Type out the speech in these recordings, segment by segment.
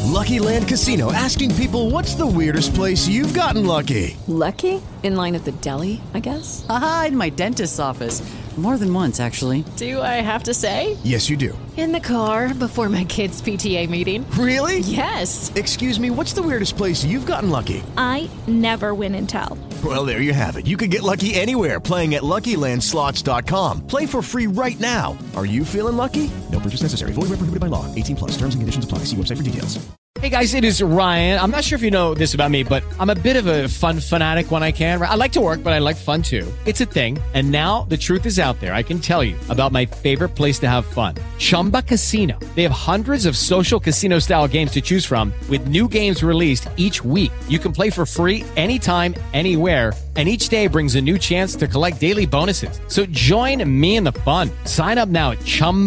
Lucky Land Casino, asking people, what's the weirdest place you've gotten lucky? Lucky? In line at the deli, I guess? Aha, in my dentist's office. More than once, actually. Do I have to say? Yes, you do. In the car before my kids' PTA meeting. Really? Yes. Excuse me, what's the weirdest place you've gotten lucky? I never win and tell. Well, there you have it. You can get lucky anywhere, playing at LuckyLandSlots.com. Play for free right now. Are you feeling lucky? No purchase necessary. Void where prohibited by law. 18 plus. Terms and conditions apply. See website for details. Hey guys, it is Ryan. I'm not sure if you know this about me, but I'm a bit of a fun fanatic when I can. I like to work, but I like fun too. It's a thing. And now the truth is out there. I can tell you about my favorite place to have fun. Chumba Casino. They have hundreds of social casino style games to choose from with new games released each week. You can play for free anytime, anywhere. And each day brings a new chance to collect daily bonuses. So join me in the fun. Sign up now at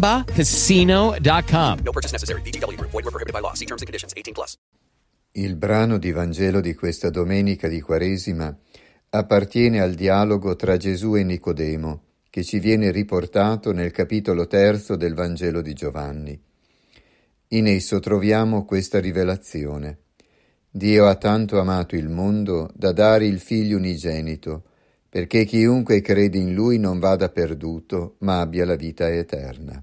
ChumbaCasino.com. No purchase necessary. VGW Group. Void where prohibited by law. See terms and conditions. 18 plus. Il brano di Vangelo di questa domenica di Quaresima appartiene al dialogo tra Gesù e Nicodemo, che ci viene riportato nel capitolo 3 del Vangelo di Giovanni. In esso troviamo questa rivelazione. Dio ha tanto amato il mondo da dare il Figlio unigenito, perché chiunque crede in Lui non vada perduto, ma abbia la vita eterna.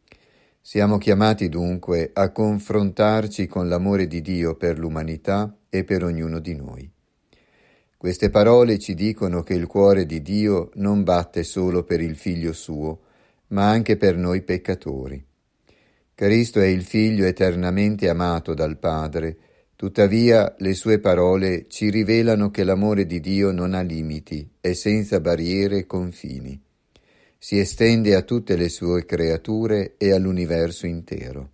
Siamo chiamati dunque a confrontarci con l'amore di Dio per l'umanità e per ognuno di noi. Queste parole ci dicono che il cuore di Dio non batte solo per il Figlio suo, ma anche per noi peccatori. Cristo è il Figlio eternamente amato dal Padre. Tuttavia le sue parole ci rivelano che l'amore di Dio non ha limiti, è senza barriere e confini. Si estende a tutte le sue creature e all'universo intero.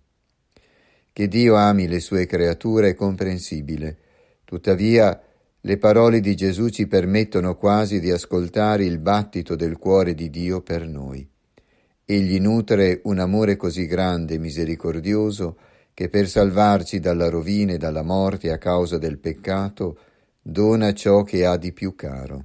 Che Dio ami le sue creature è comprensibile, tuttavia le parole di Gesù ci permettono quasi di ascoltare il battito del cuore di Dio per noi. Egli nutre un amore così grande e misericordioso che per salvarci dalla rovina e dalla morte a causa del peccato dona ciò che ha di più caro.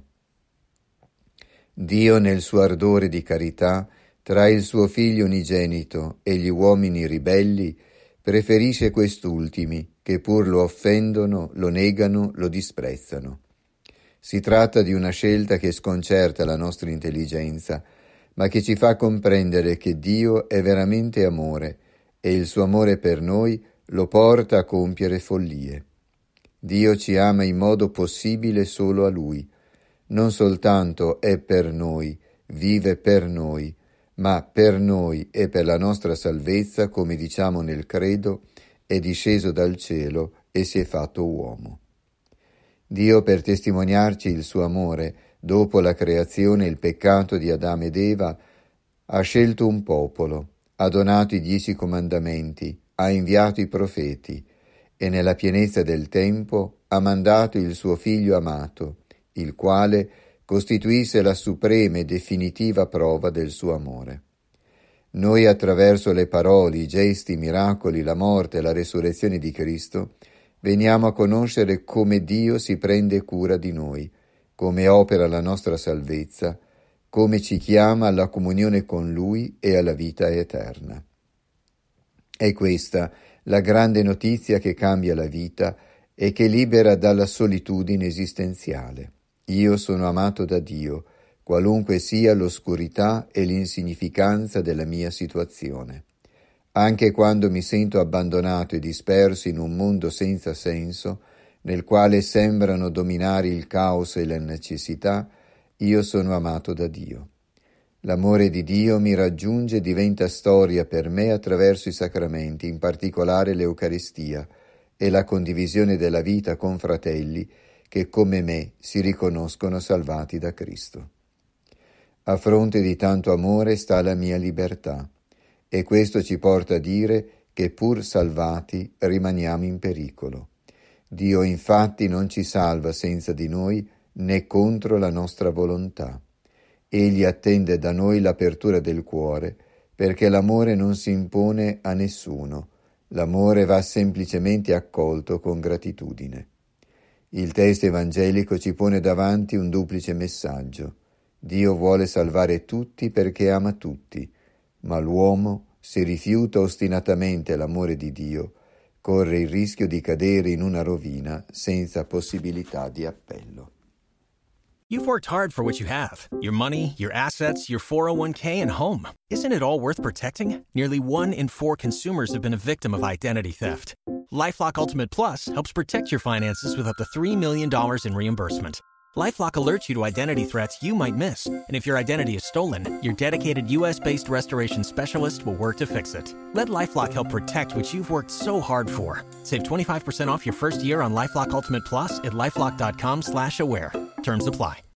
Dio nel suo ardore di carità tra il suo Figlio unigenito e gli uomini ribelli preferisce quest'ultimi che pur lo offendono, lo negano, lo disprezzano. Si tratta di una scelta che sconcerta la nostra intelligenza, ma che ci fa comprendere che Dio è veramente amore e il suo amore per noi lo porta a compiere follie. Dio ci ama in modo possibile solo a Lui. Non soltanto è per noi, vive per noi, ma per noi e per la nostra salvezza, come diciamo nel credo, è disceso dal cielo e si è fatto uomo. Dio, per testimoniarci il suo amore, dopo la creazione e il peccato di Adamo ed Eva, ha scelto un popolo, ha donato i 10 comandamenti, ha inviato i profeti e nella pienezza del tempo ha mandato il suo Figlio amato, il quale costituisse la suprema e definitiva prova del suo amore. Noi attraverso le parole, i gesti, i miracoli, la morte e la resurrezione di Cristo veniamo a conoscere come Dio si prende cura di noi, come opera la nostra salvezza, come ci chiama alla comunione con Lui e alla vita eterna. È questa la grande notizia che cambia la vita e che libera dalla solitudine esistenziale. Io sono amato da Dio, qualunque sia l'oscurità e l'insignificanza della mia situazione. Anche quando mi sento abbandonato e disperso in un mondo senza senso, nel quale sembrano dominare il caos e la necessità, io sono amato da Dio. L'amore di Dio mi raggiunge e diventa storia per me attraverso i sacramenti, in particolare l'Eucaristia e la condivisione della vita con fratelli che come me si riconoscono salvati da Cristo. A fronte di tanto amore sta la mia libertà, e questo ci porta a dire che pur salvati rimaniamo in pericolo. Dio infatti non ci salva senza di noi né contro la nostra volontà. Egli attende da noi l'apertura del cuore, perché l'amore non si impone a nessuno, l'amore va semplicemente accolto con gratitudine. Il testo evangelico ci pone davanti un duplice messaggio. Dio vuole salvare tutti perché ama tutti, ma l'uomo, se rifiuta ostinatamente l'amore di Dio, corre il rischio di cadere in una rovina senza possibilità di appello. You've worked hard for what you have. Your money, your assets, your 401k, and home. Isn't it all worth protecting? Nearly 1 in 4 consumers have been a victim of identity theft. LifeLock Ultimate Plus helps protect your finances with up to $3 million in reimbursement. LifeLock alerts you to identity threats you might miss. And if your identity is stolen, your dedicated U.S.-based restoration specialist will work to fix it. Let LifeLock help protect what you've worked so hard for. Save 25% off your first year on LifeLock Ultimate Plus at LifeLock.com/aware. Terms apply.